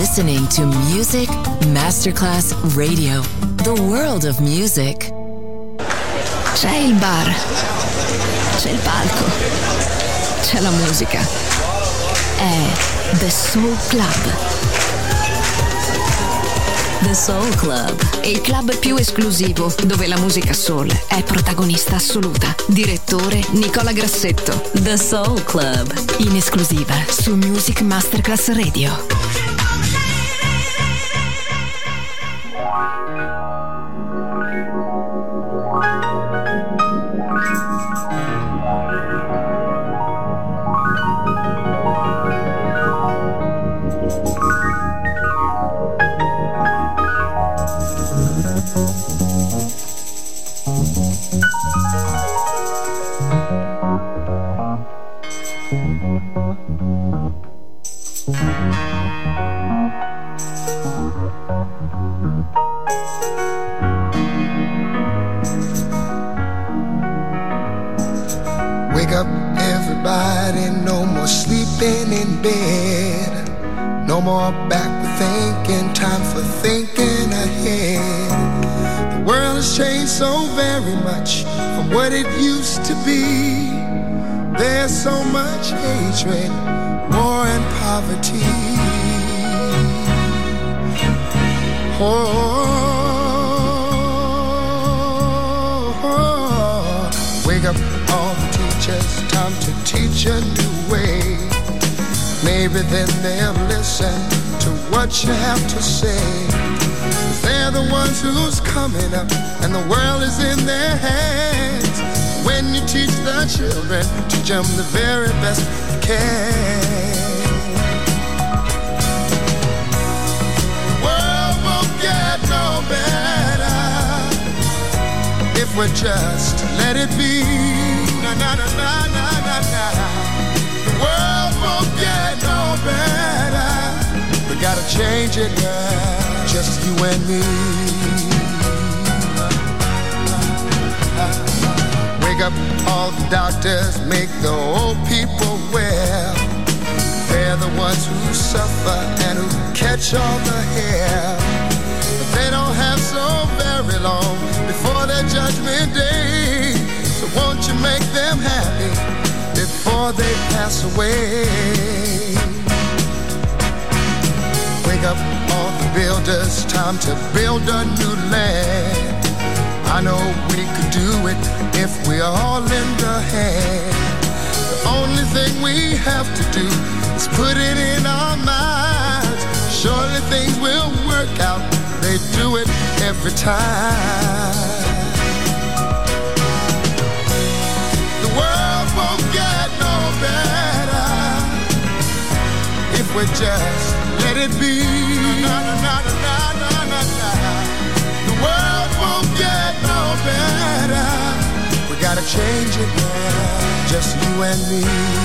listening to Music Masterclass Radio, the world of music. C'è il bar, c'è il palco, c'è la musica. È The Soul Club. The Soul Club, Il club più esclusivo dove la musica soul è protagonista assoluta. Direttore Nicola Grassetto. The Soul Club, In esclusiva su Music Masterclass Radio. Wake up everybody, no more sleeping in bed. No more backward thinking, time for thinking ahead. The world has changed so very much from what it used to be. There's so much hatred, war and poverty. Wake up all the teachers, time to teach a new way. Maybe then they'll listen to what you have to say. They're the ones who's coming up and the world is in their hands. When you teach the children, teach them the very best you can. The world won't get no better if we just let it be. Na na na na na na na. The world won't get no better. We gotta change it, girl. Just you and me. Wake up all the doctors, make the old people well. They're the ones who suffer and who catch all the hair. But they don't have so very long before their judgment day. So won't you make them happy before they pass away? Wake up all the builders, time to build a new land. I know we could do it if we all lend a hand. The only thing we have to do is put it in our minds. Surely things will work out, they do it every time. The world won't get no better if we just let it be. Na, na, na, na, na, na, na. The world won't get no better. We gotta change it now, just you and me.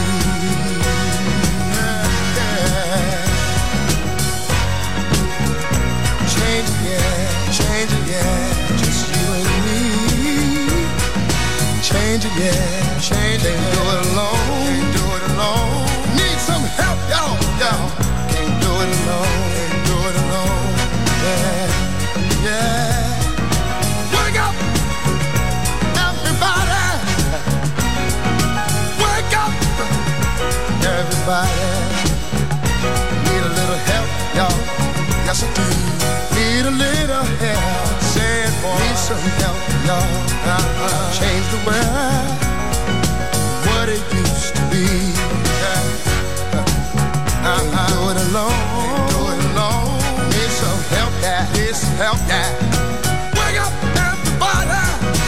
Yeah. Change it, yeah, change it, yeah, just you and me. Change it, yeah, change it. Can't do it alone, can't do it alone. Need some help, y'all, y'all. Can't do it alone, can't do it alone. Yeah, yeah. Wake up, everybody. Wake up, everybody. Need a little help, y'all. Yes, I do. Need a little help. Say it, boy. Need some help, y'all. Change the world, what it used to be. Can't do it alone. Can't do it alone. Need some help, yeah. Need some help, yeah. Wake up, everybody.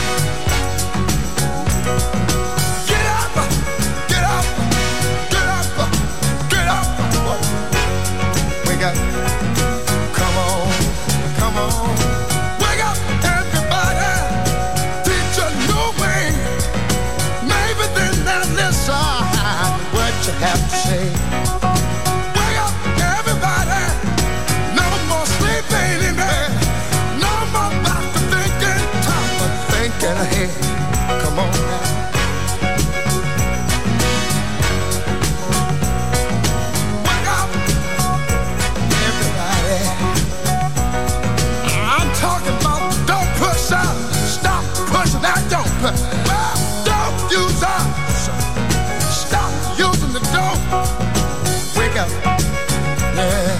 Get up, get up, get up, get up. Wake up. Come on, come on. Wake up, everybody. Teach a new way. Maybe then they'll listen what you have to say. Wake up, everybody. No more sleeping in bed. wake up. Yeah.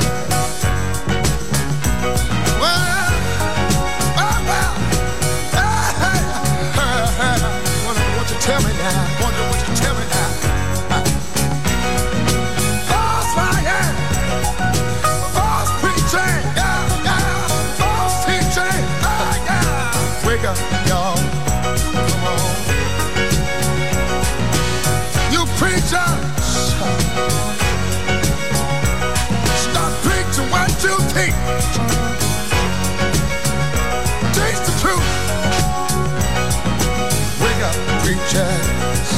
Tell me now, wonder what you tell me now. False lying, false preaching, yeah, yeah, false teaching, yeah. Wake up, y'all, come on. You preachers, stop preaching what you teach. Teach the truth. Wake up, preachers.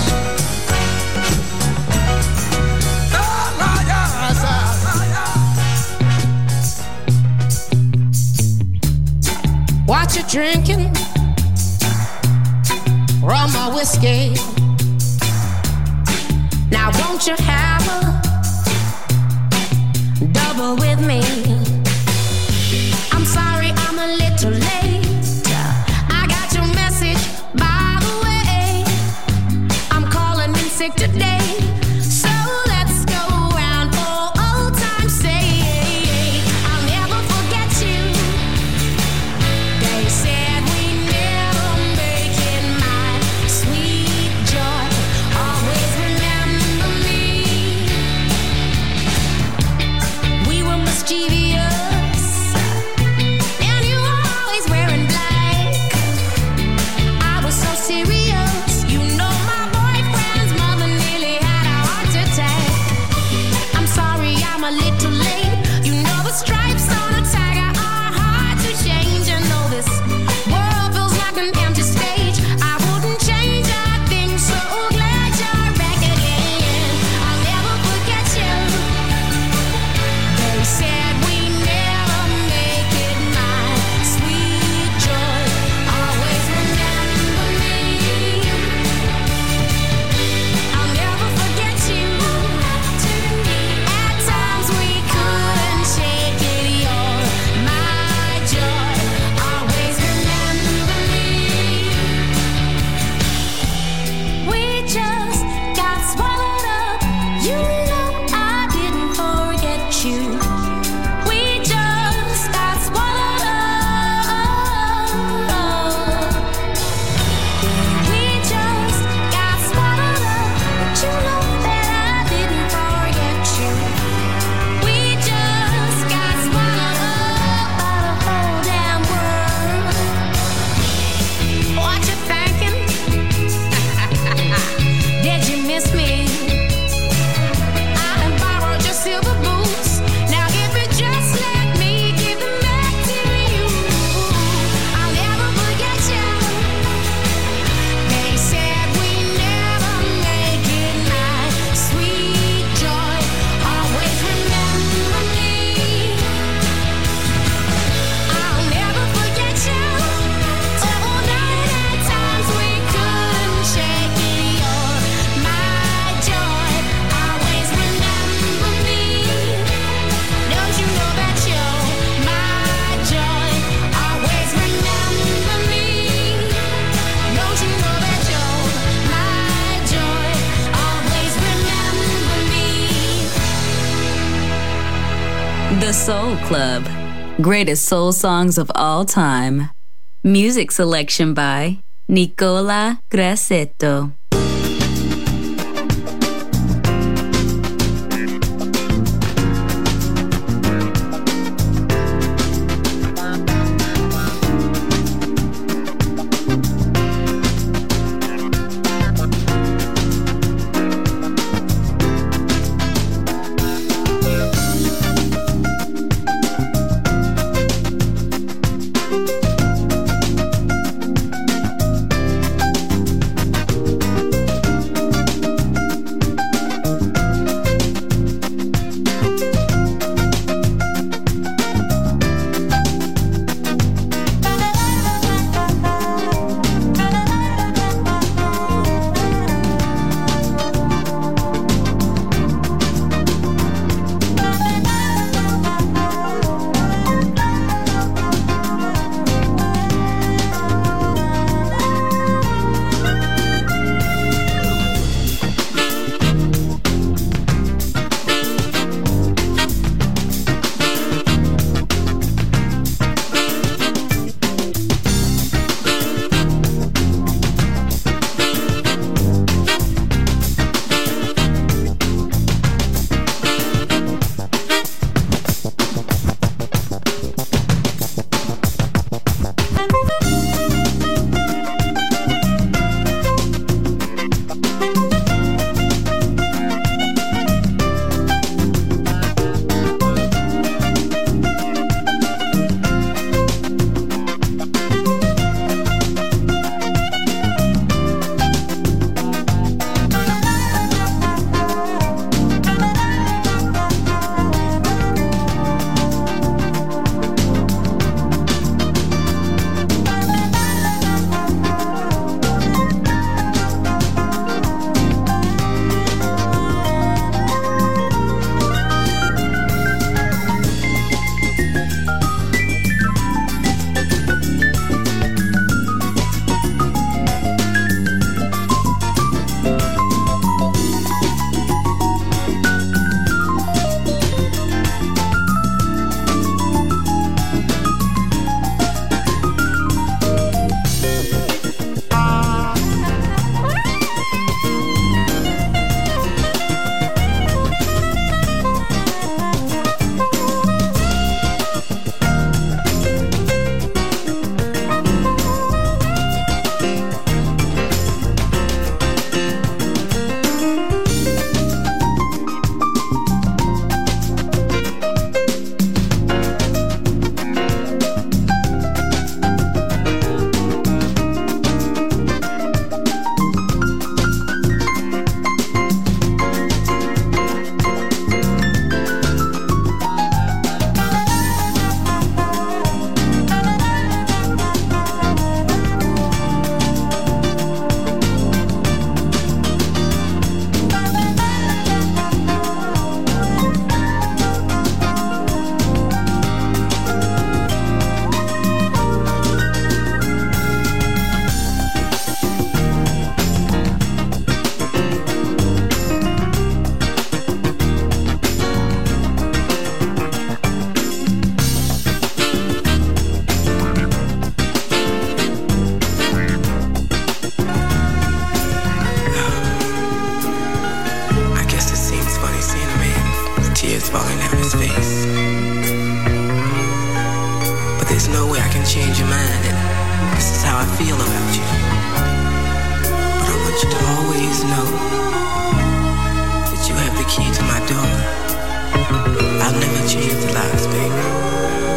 What you drinking? Rum or whiskey? Now won't you have a double with me? I'm sorry I'm a little late. I got your message, by the way. I'm calling in sick today, so let's go round for old time's sake. I'll never forget you. They said we never make it, my sweet joy. Always remember me. We were mischievous, and you were always wearing black. I was so serious, you know my boyfriend's mother nearly had a heart attack. I'm sorry I'm a little late. You know the stripes on a tiger are hard to change. And though this world feels like an empty stage, I wouldn't change a thing. So glad you're back again. I'll never forget you. They said we never make it, my sweet joy. Always remember me. I'll never forget you. At times we couldn't shake it. You're my joy. Always remember me. We just got swallowed up. You know I didn't forget you. We just got swallowed up. We just got swallowed up. But you know that I didn't forget you. We just got swallowed up by the whole damn world. What you thinking? Did you miss me? I have borrowed your silver boots. Now if you just let me give them back to you, I'll never forget you. They said we never make it, my sweet joy. Always remember me. I'll never forget you. Oh, night at times we couldn't shake it. You're my joy. Always remember me. Don't you know that you're my joy? Always remember me. Don't you know that you're my joy? Always remember me. The Soul Club. Greatest soul songs of all time. Music selection by Nicola Grassetto. face. But there's no way I can change your mind, and this is how I feel about you. But I want you to always know that you have the key to my door. I'll never change the locks, baby.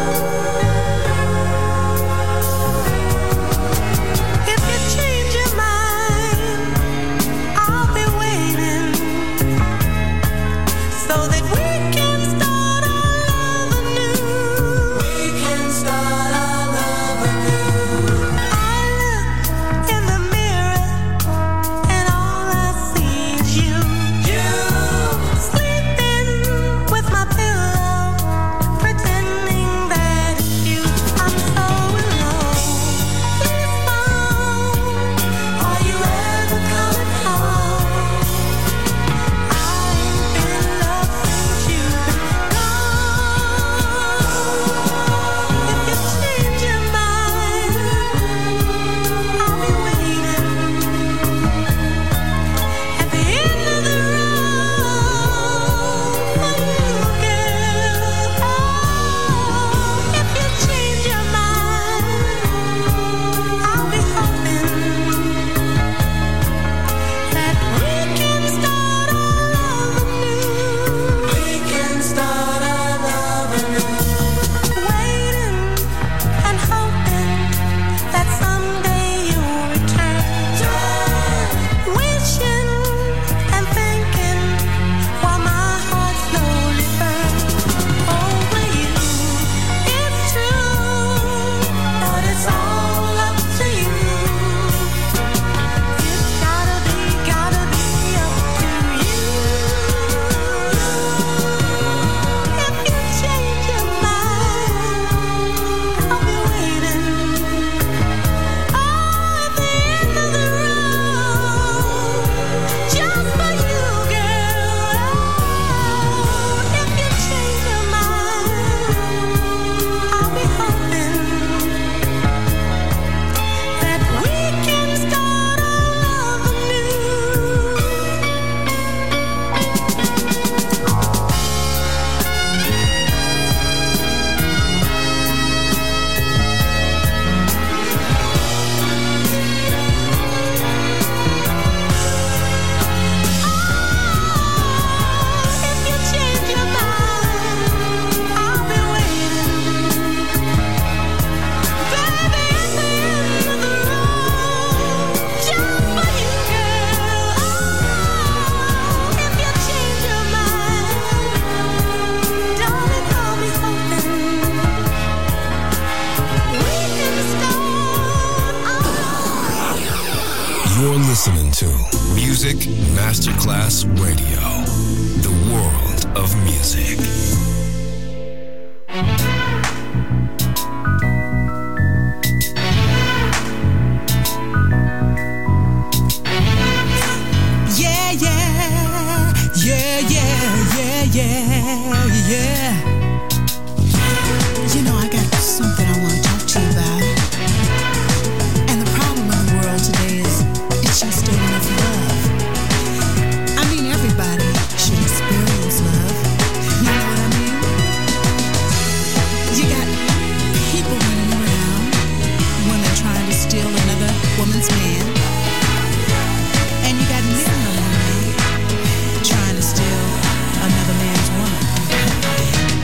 Masterclass Radio, the world of music. Yeah, yeah, yeah, yeah, yeah, yeah, yeah. You know, I got something I want to talk to you about. And the problem in the world today is it's just ain't enough love. Everybody should experience love. You know what I mean? You got people running around, women trying to steal another woman's man. And you got men around trying to steal another man's woman.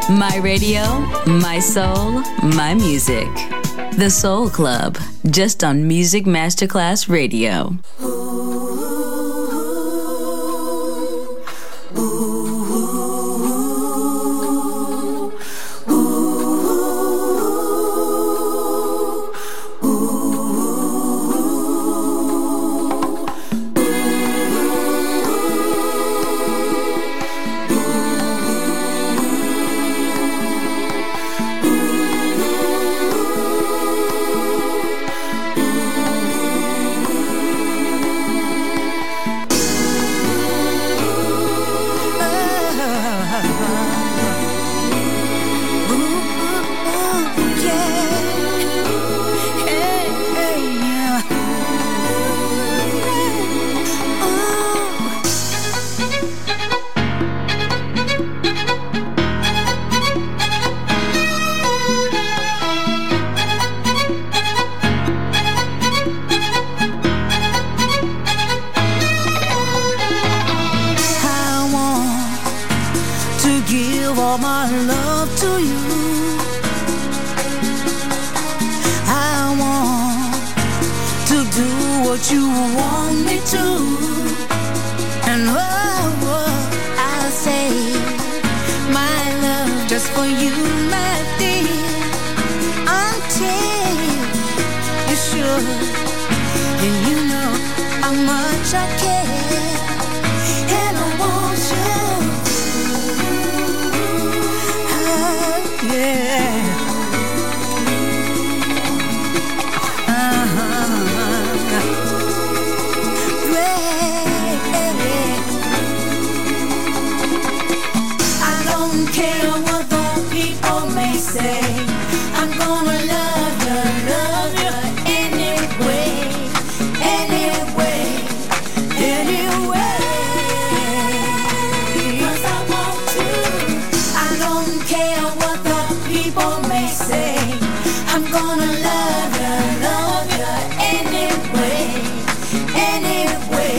My radio, my soul, my music. The Soul Club, just on Music Masterclass Radio.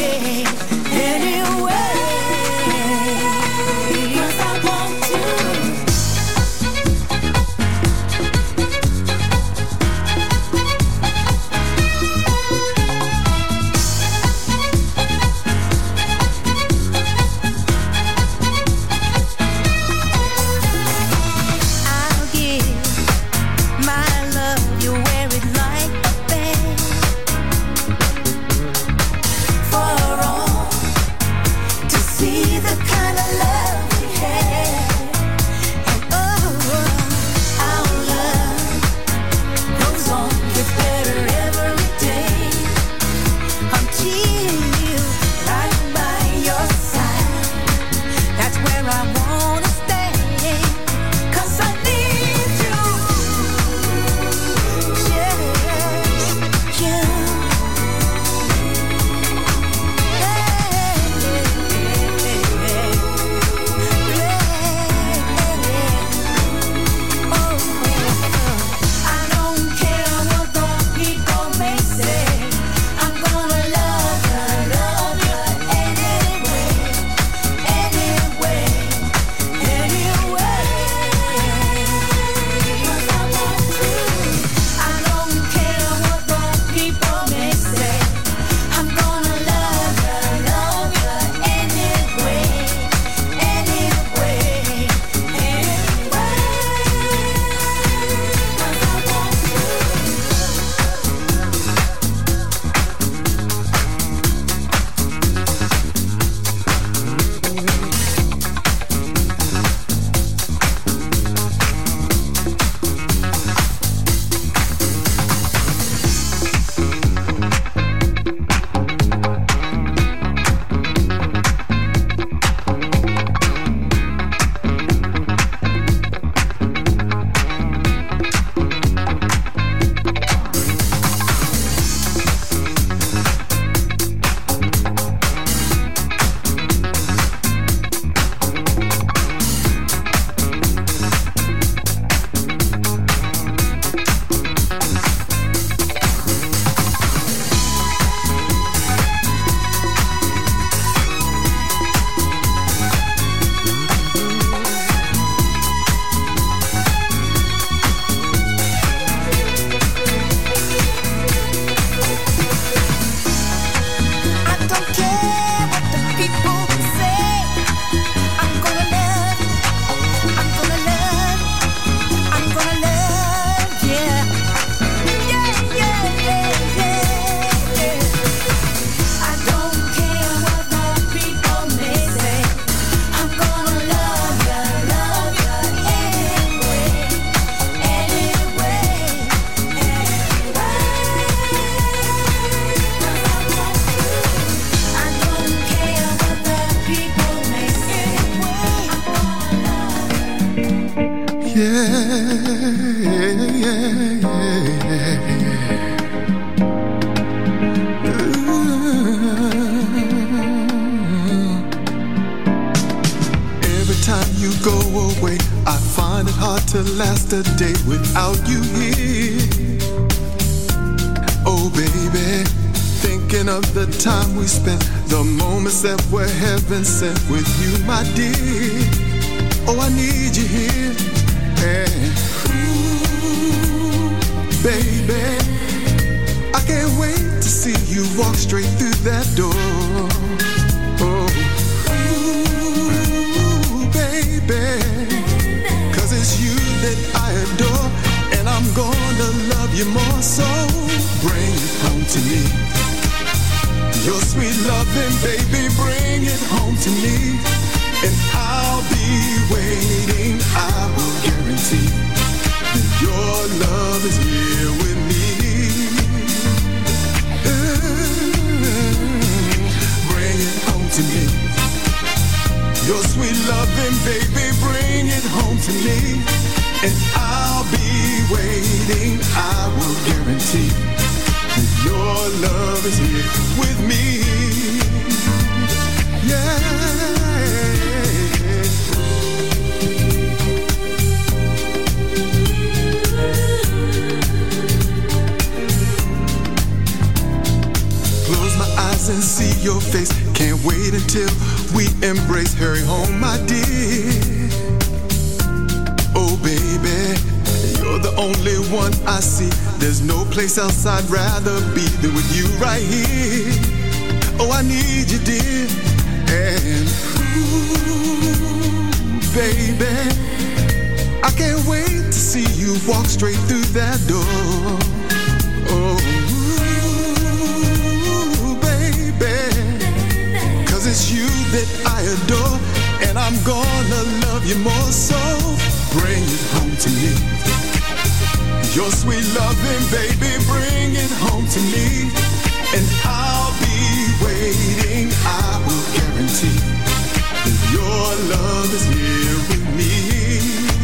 Anyway, 'cause I want to. To last a day without you here. Oh baby, thinking of the time we spent, the moments that were heaven sent with you, my dear. Oh, I need you here. And ooh, baby, I can't wait to see you walk straight through that door. Oh, ooh, baby, it's you that I adore, and I'm gonna love you more. So bring it home to me. Your sweet loving, baby, bring it home to me. And I'll be waiting, I will guarantee that your love is here with me. Bring it home to me. Your sweet loving, baby, bring it home to me. And I'll be waiting, I will guarantee that your love is here with me. Yeah. Close my eyes and see your face. Can't wait until we embrace. Hurry home, my dear. Oh baby, you're the only one I see. There's no place else I'd rather be than with you right here. Oh, I need you, dear. And ooh, baby, I can't wait to see you walk straight through that door. Oh, it's you that I adore, and I'm gonna love you more. So bring it home to me. Your sweet loving, baby, bring it home to me. And I'll be waiting, I will guarantee that your love is here with me.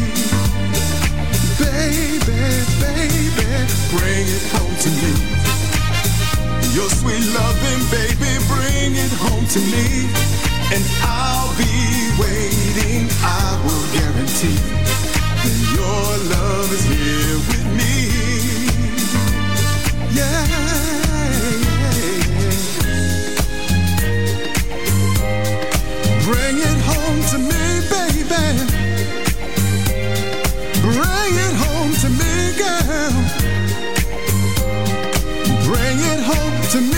Baby, baby, bring it home to me. Your sweet loving, baby, bring it home to me. And I'll be waiting, I will guarantee that your love is here with me. Yeah, bring it home to me, baby. Bring it home to me, girl. Bring it home to me.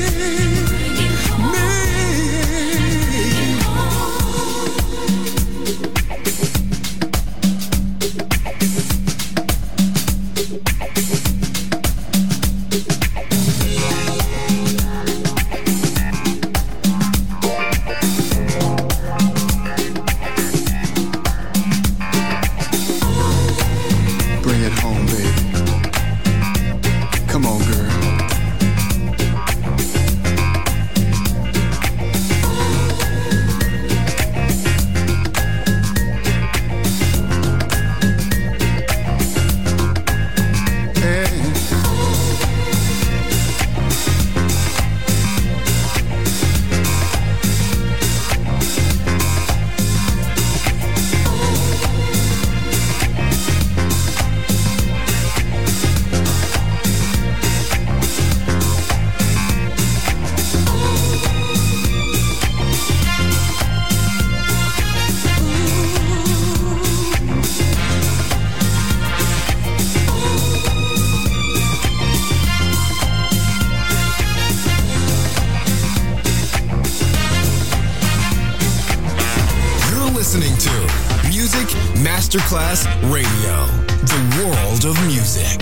Masterclass Radio, the world of music.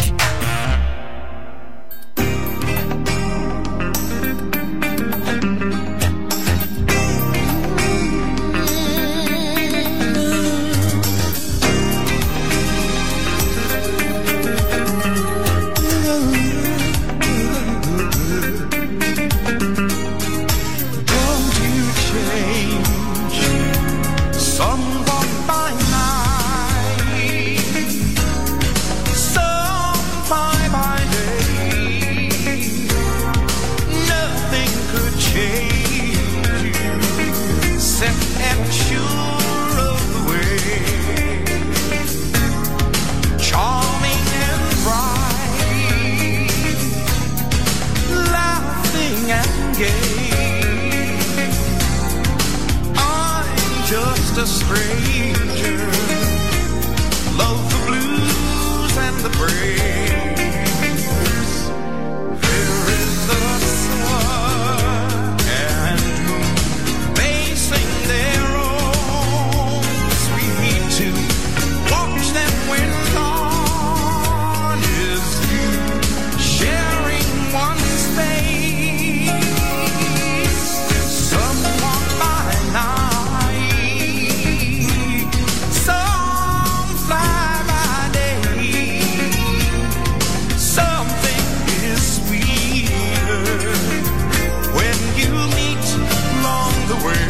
Someone by night stranger. Love the blues and the praise. There is the sun and moon. They sing their own sweet tune. Watch them when dawn is through, sharing one space. Some walk by night, some fly by day. Something is sweeter when you meet along the way.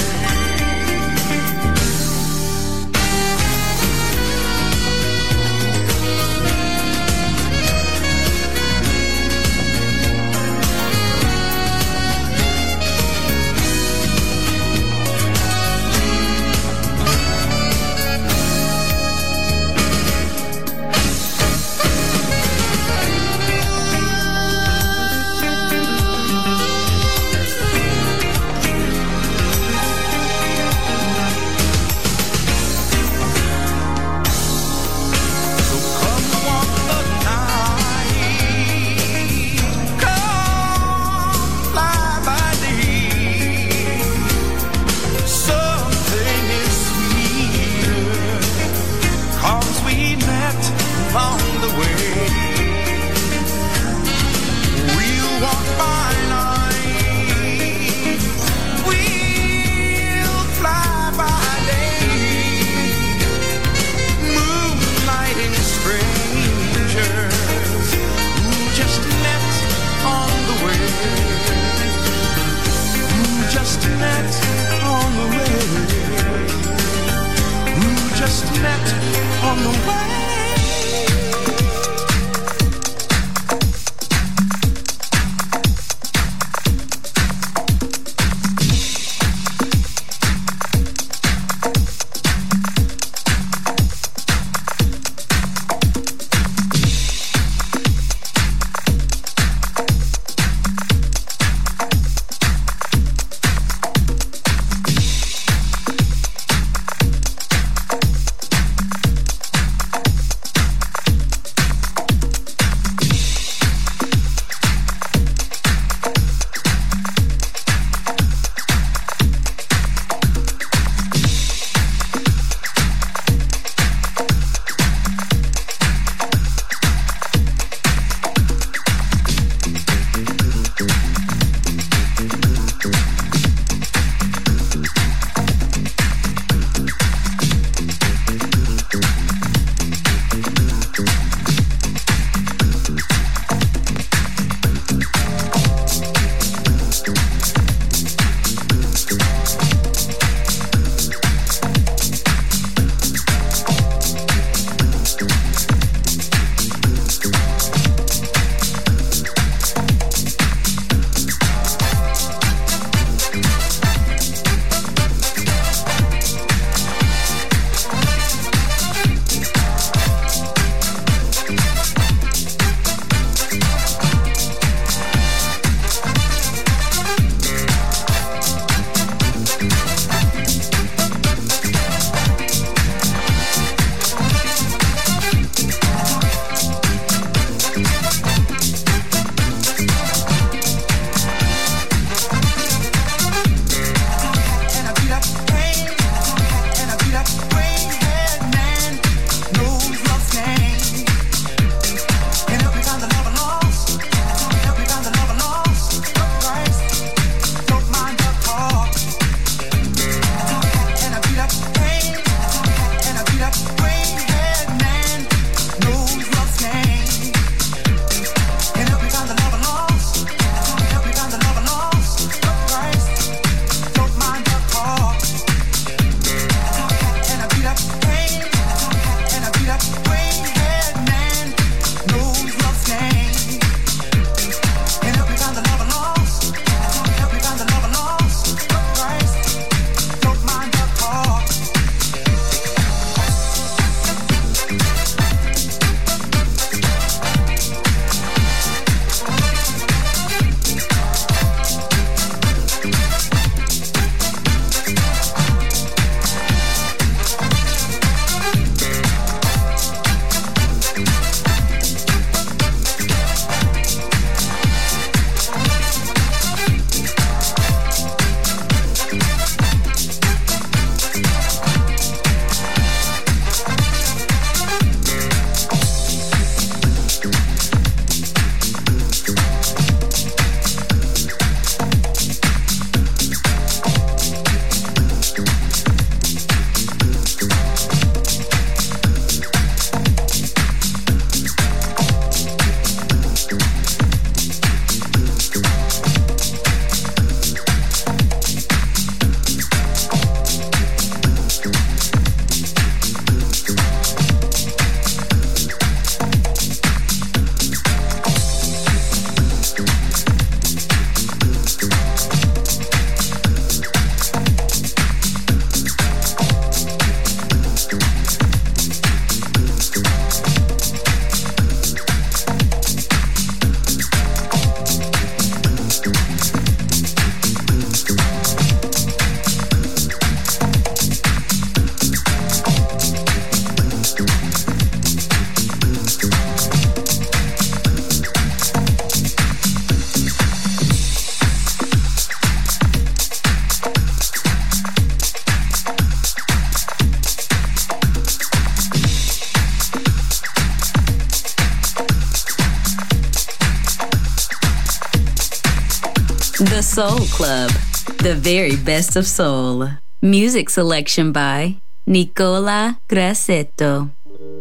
So come walk the night, come fly by day. Something is sweeter, 'cause we met along the way. We'll walk by night, we'll fly by day. Moonlighting strangers who just met on the way. Who just met on the way. Who just met on the way. Soul Club, the very best of soul. Music selection by Nicola Grassetto.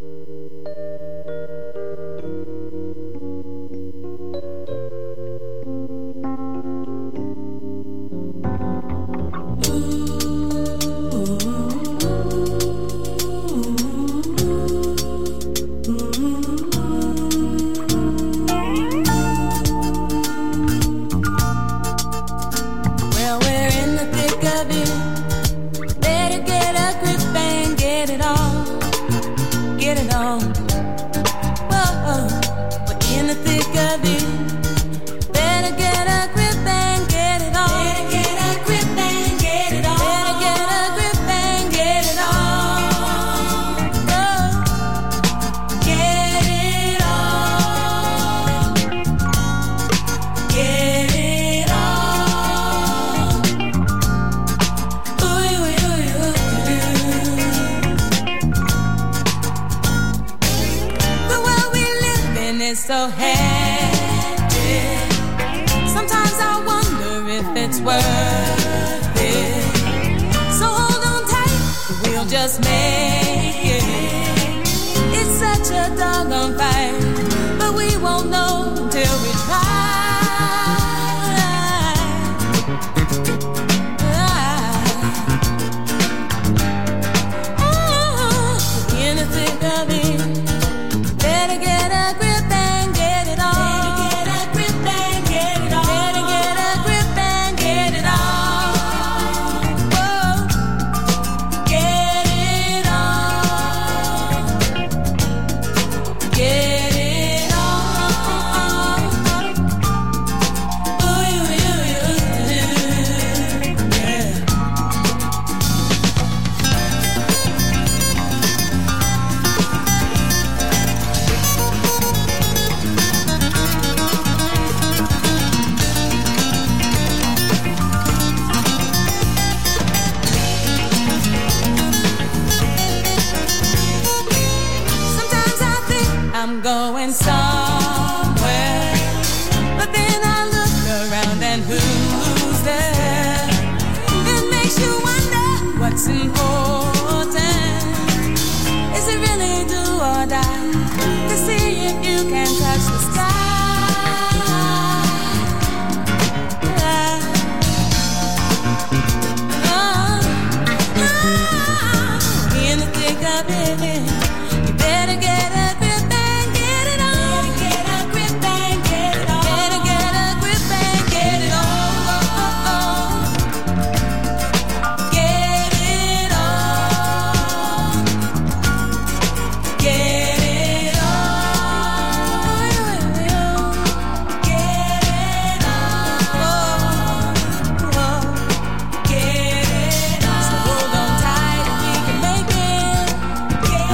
So hectic. Sometimes I wonder if it's worth it. So hold on tight, we'll just make it. It's such a doggone fight, but we won't know until we try. In the thick of it, better get a grip. I'm going somewhere, but then I look around and who's there? It makes you wonder what's important. Is it really do or die to see if you can touch the sky? In the thick of it, you better get a grip. Get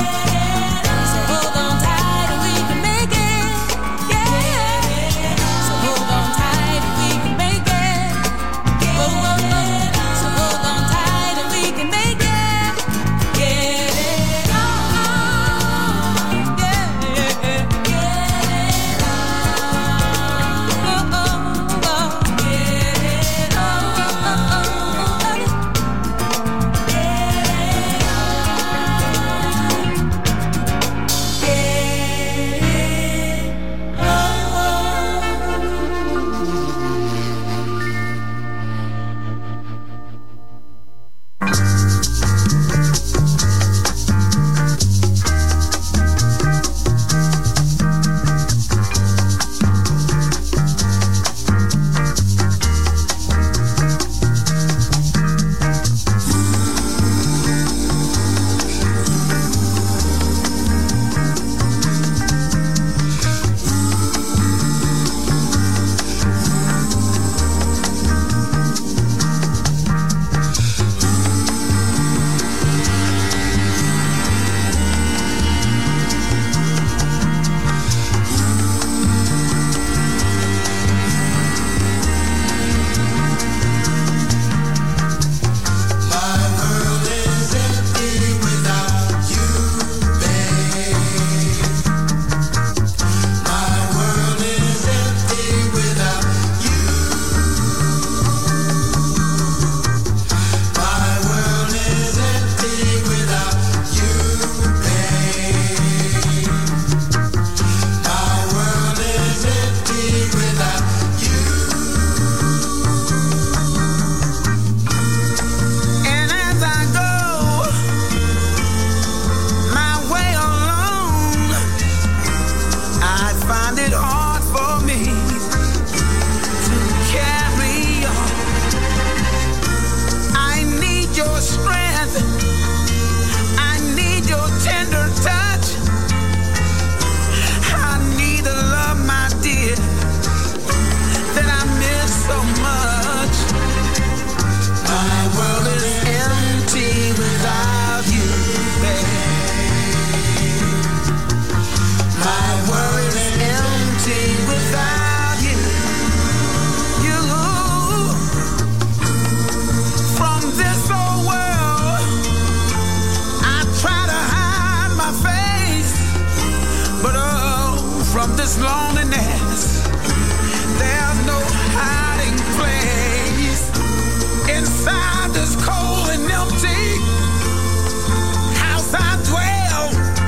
this loneliness. There's no hiding place inside this cold and empty house. I dwell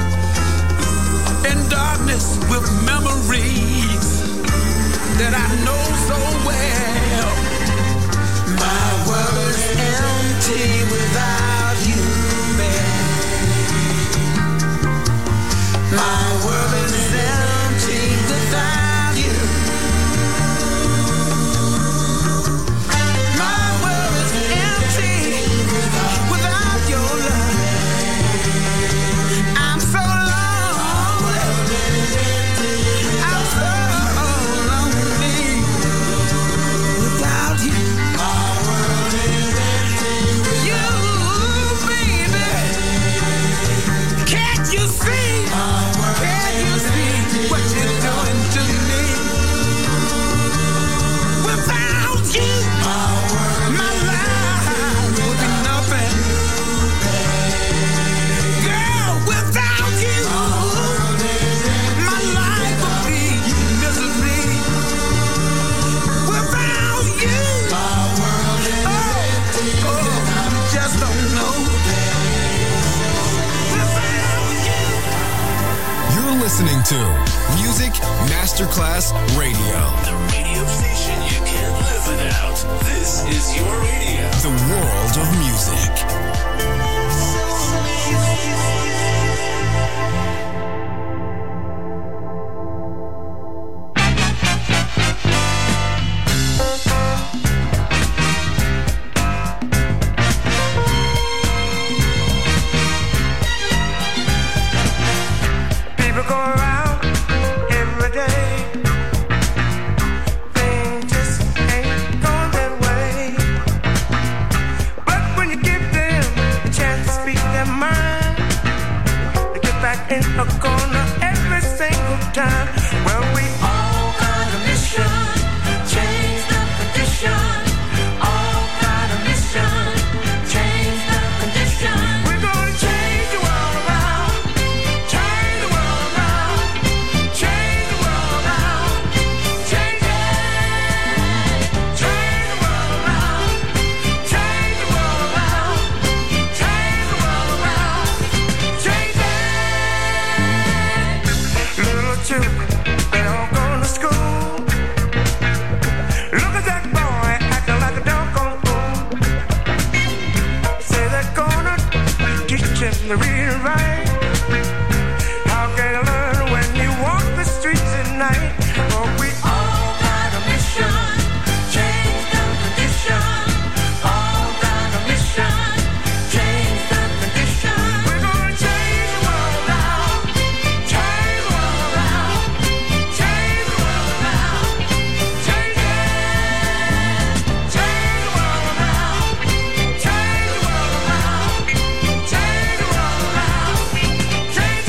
in darkness with memories that I know so well. My world's empty without you, babe. My world is empty without you. My world is empty without your love. I'm so lonely. I'm so lonely without you. My world is empty without you, baby. Can't you see? Can't you see what you're doing to me? Without you, my life would be nothing. Girl, without you, my life would be misery. Without you, you just don't know. You're listening to Music Masterclass Radio. The radio station you can't live without. This is your radio. The world of music. People go around every day. Things just ain't going their way. But when you give them a chance to speak their mind, they get back in a corner every single time. Well, we all got a mission, change the condition. All got a mission, change the condition. We're gonna change the world around. Change the world around. Change the world around. Change it. Change the world around. Change the world around. Change the world around. Change it. Little children, they all going to school. Look at that boy acting like a doggone fool. Say they're gonna teach him to read and write. How can you learn when you walk the streets at night? But we all got a mission, change the condition. All got a mission, change the condition. We're gonna change the world around, change the world around, change the world around, change it, change the world around, change the world around, change the world around, change it.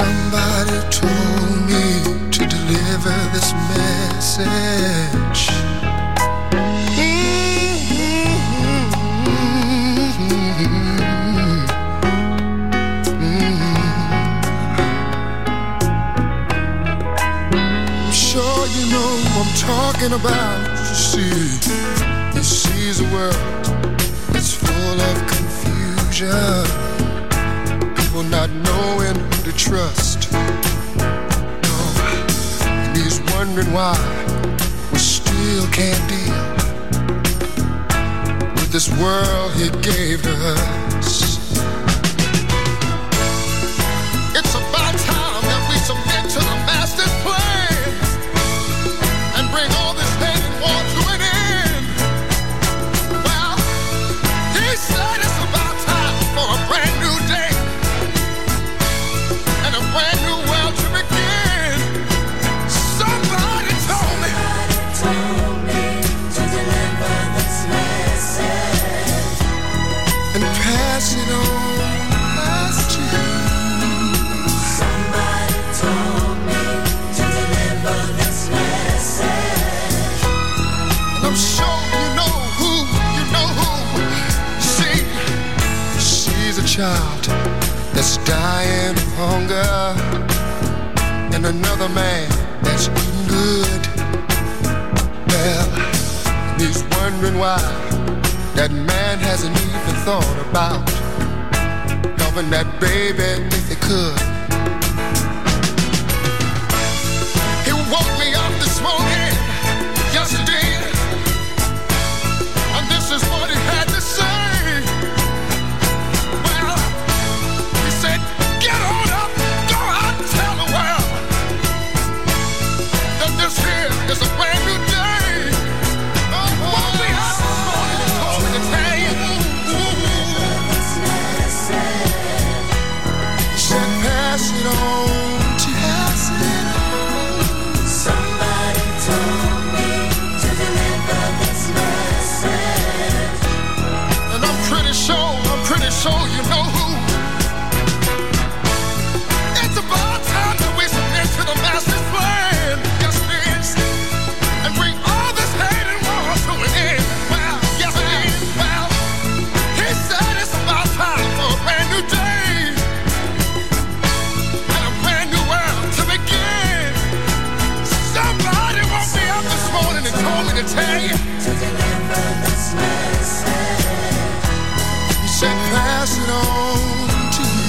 Somebody told me to deliver this message. I'm sure you know what I'm talking about. You see, he sees a world that's full of confusion, people not knowing who to trust. No, and he's wondering why we still can't deal with this world he gave to us. It's about time that we submit to the master's plan and bring all this hate and war to an end. Well, he said it's about time for a brand new day and a brand new world to begin. Somebody told me to deliver this message and pass it on to you. Somebody told me to deliver this message, and I'm sure you know who. See, she's a child that's dying of hunger, and another man that's eating good. Well, he's wondering why that man hasn't even thought about helping that baby if he could. He woke me up this morning, yesterday, and this is what he had to say. Well, he said, get on up, go out and tell the world that this here is a brand new day. Woke me up this morning and told me to tell you. Said pass it on to you. Somebody told me to deliver this message, and I'm pretty sure you know who. It's about time that we submit to the master's plan. Yes, it is. And bring all this hate and war to an end. Well, yes, it is. Well, he said it's about time for a brand new day and a brand new world to begin. Somebody woke me up this morning and told me to tell you to deliver this message. He said, pass it on to you.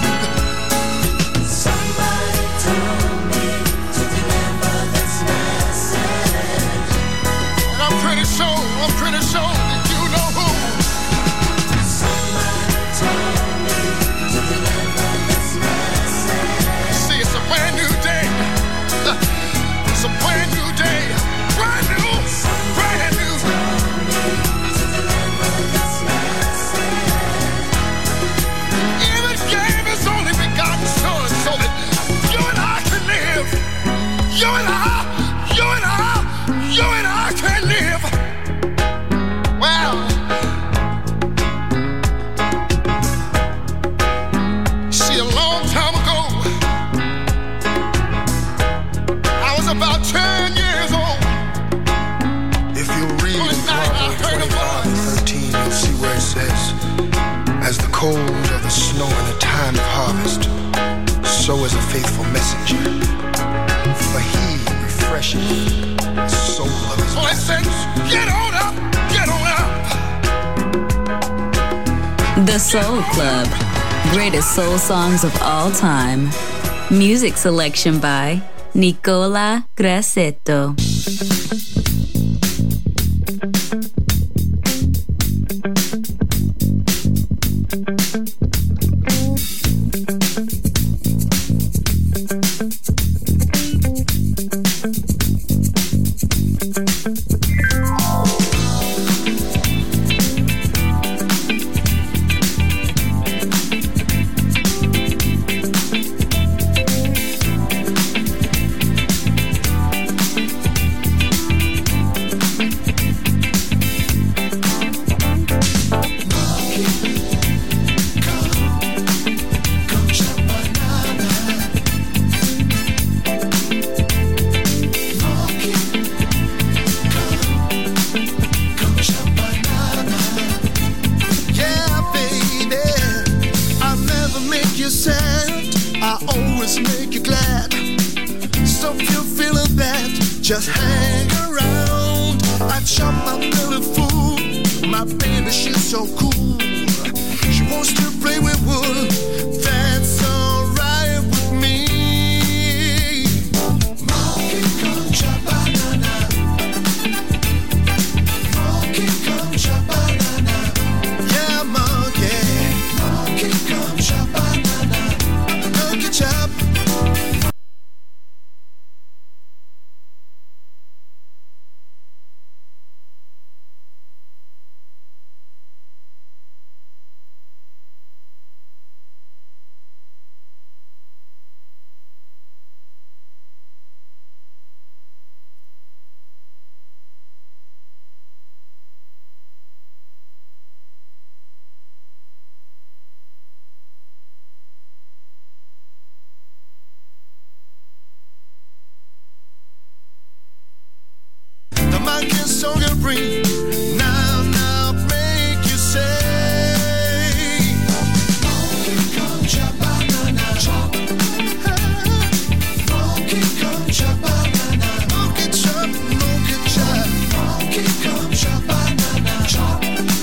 Somebody told me to deliver this message, and I'm pretty sure that you know who. Somebody told me to deliver this message. See, it's a brand new day. It's a brand new day. Brand new. Even gave his only begotten son so that you and I can live. You and I can live. Well, see, a long time ago, I was about 10 years old. If you read in Proverbs 25:13, you'll see where it says, as the cold of the snow in the time of harvest, so is a faithful messenger. For he refreshes the soul of his messengers. Get on up, get on up. The Soul Club. Greatest soul songs of all time. Music selection by Nicola Grassetto. Come just hang around. I chop my belly full. My baby, she's so cool. She wants to play with wood. That's alright with me. Monkey, come chop banana. Monkey, come chop banana. Yeah, monkey. Monkey, come chop banana. Monkey chop. Song and bring now make you say Monkey come chop banana chop. Monkey come chop banana. Monkey chop, monkey chop. Monkey come chop banana chop.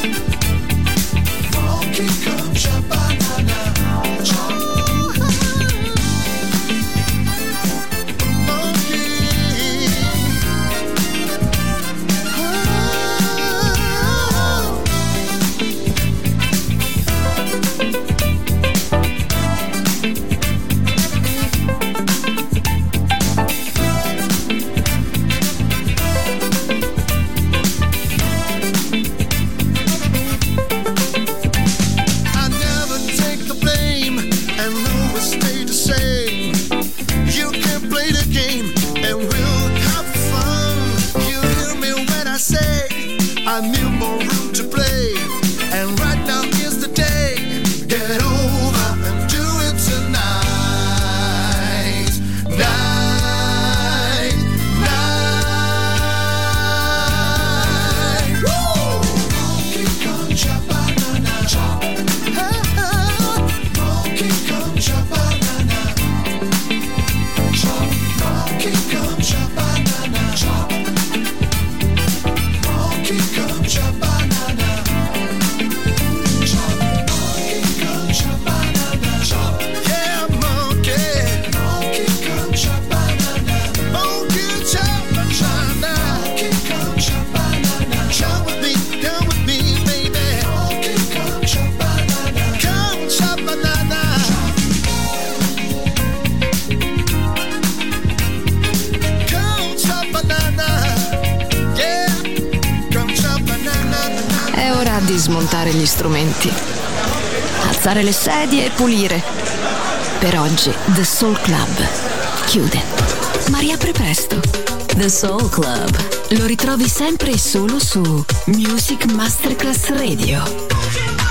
Monkey come chop banana chop. I need more room to play, and right now is the day. Get over and do it tonight. Night. Woo! Monkey come chop banana chop. Monkey come chop banana chop. Monkey come chop banana chop. Monkey come chop banana chop. Monkey come chop banana chop. Yeah, monkey. Monkey come chop banana. Monkey chop banana. Monkey come chop banana. Chop with me, come with me, baby. Monkey come chop banana. Come chop banana. Come chop banana. È ora di smontare gli strumenti, alzare le sedie e pulire. Per oggi The Soul Club chiude, ma riapre presto. The Soul Club Lo ritrovi sempre e solo su Music Masterclass Radio.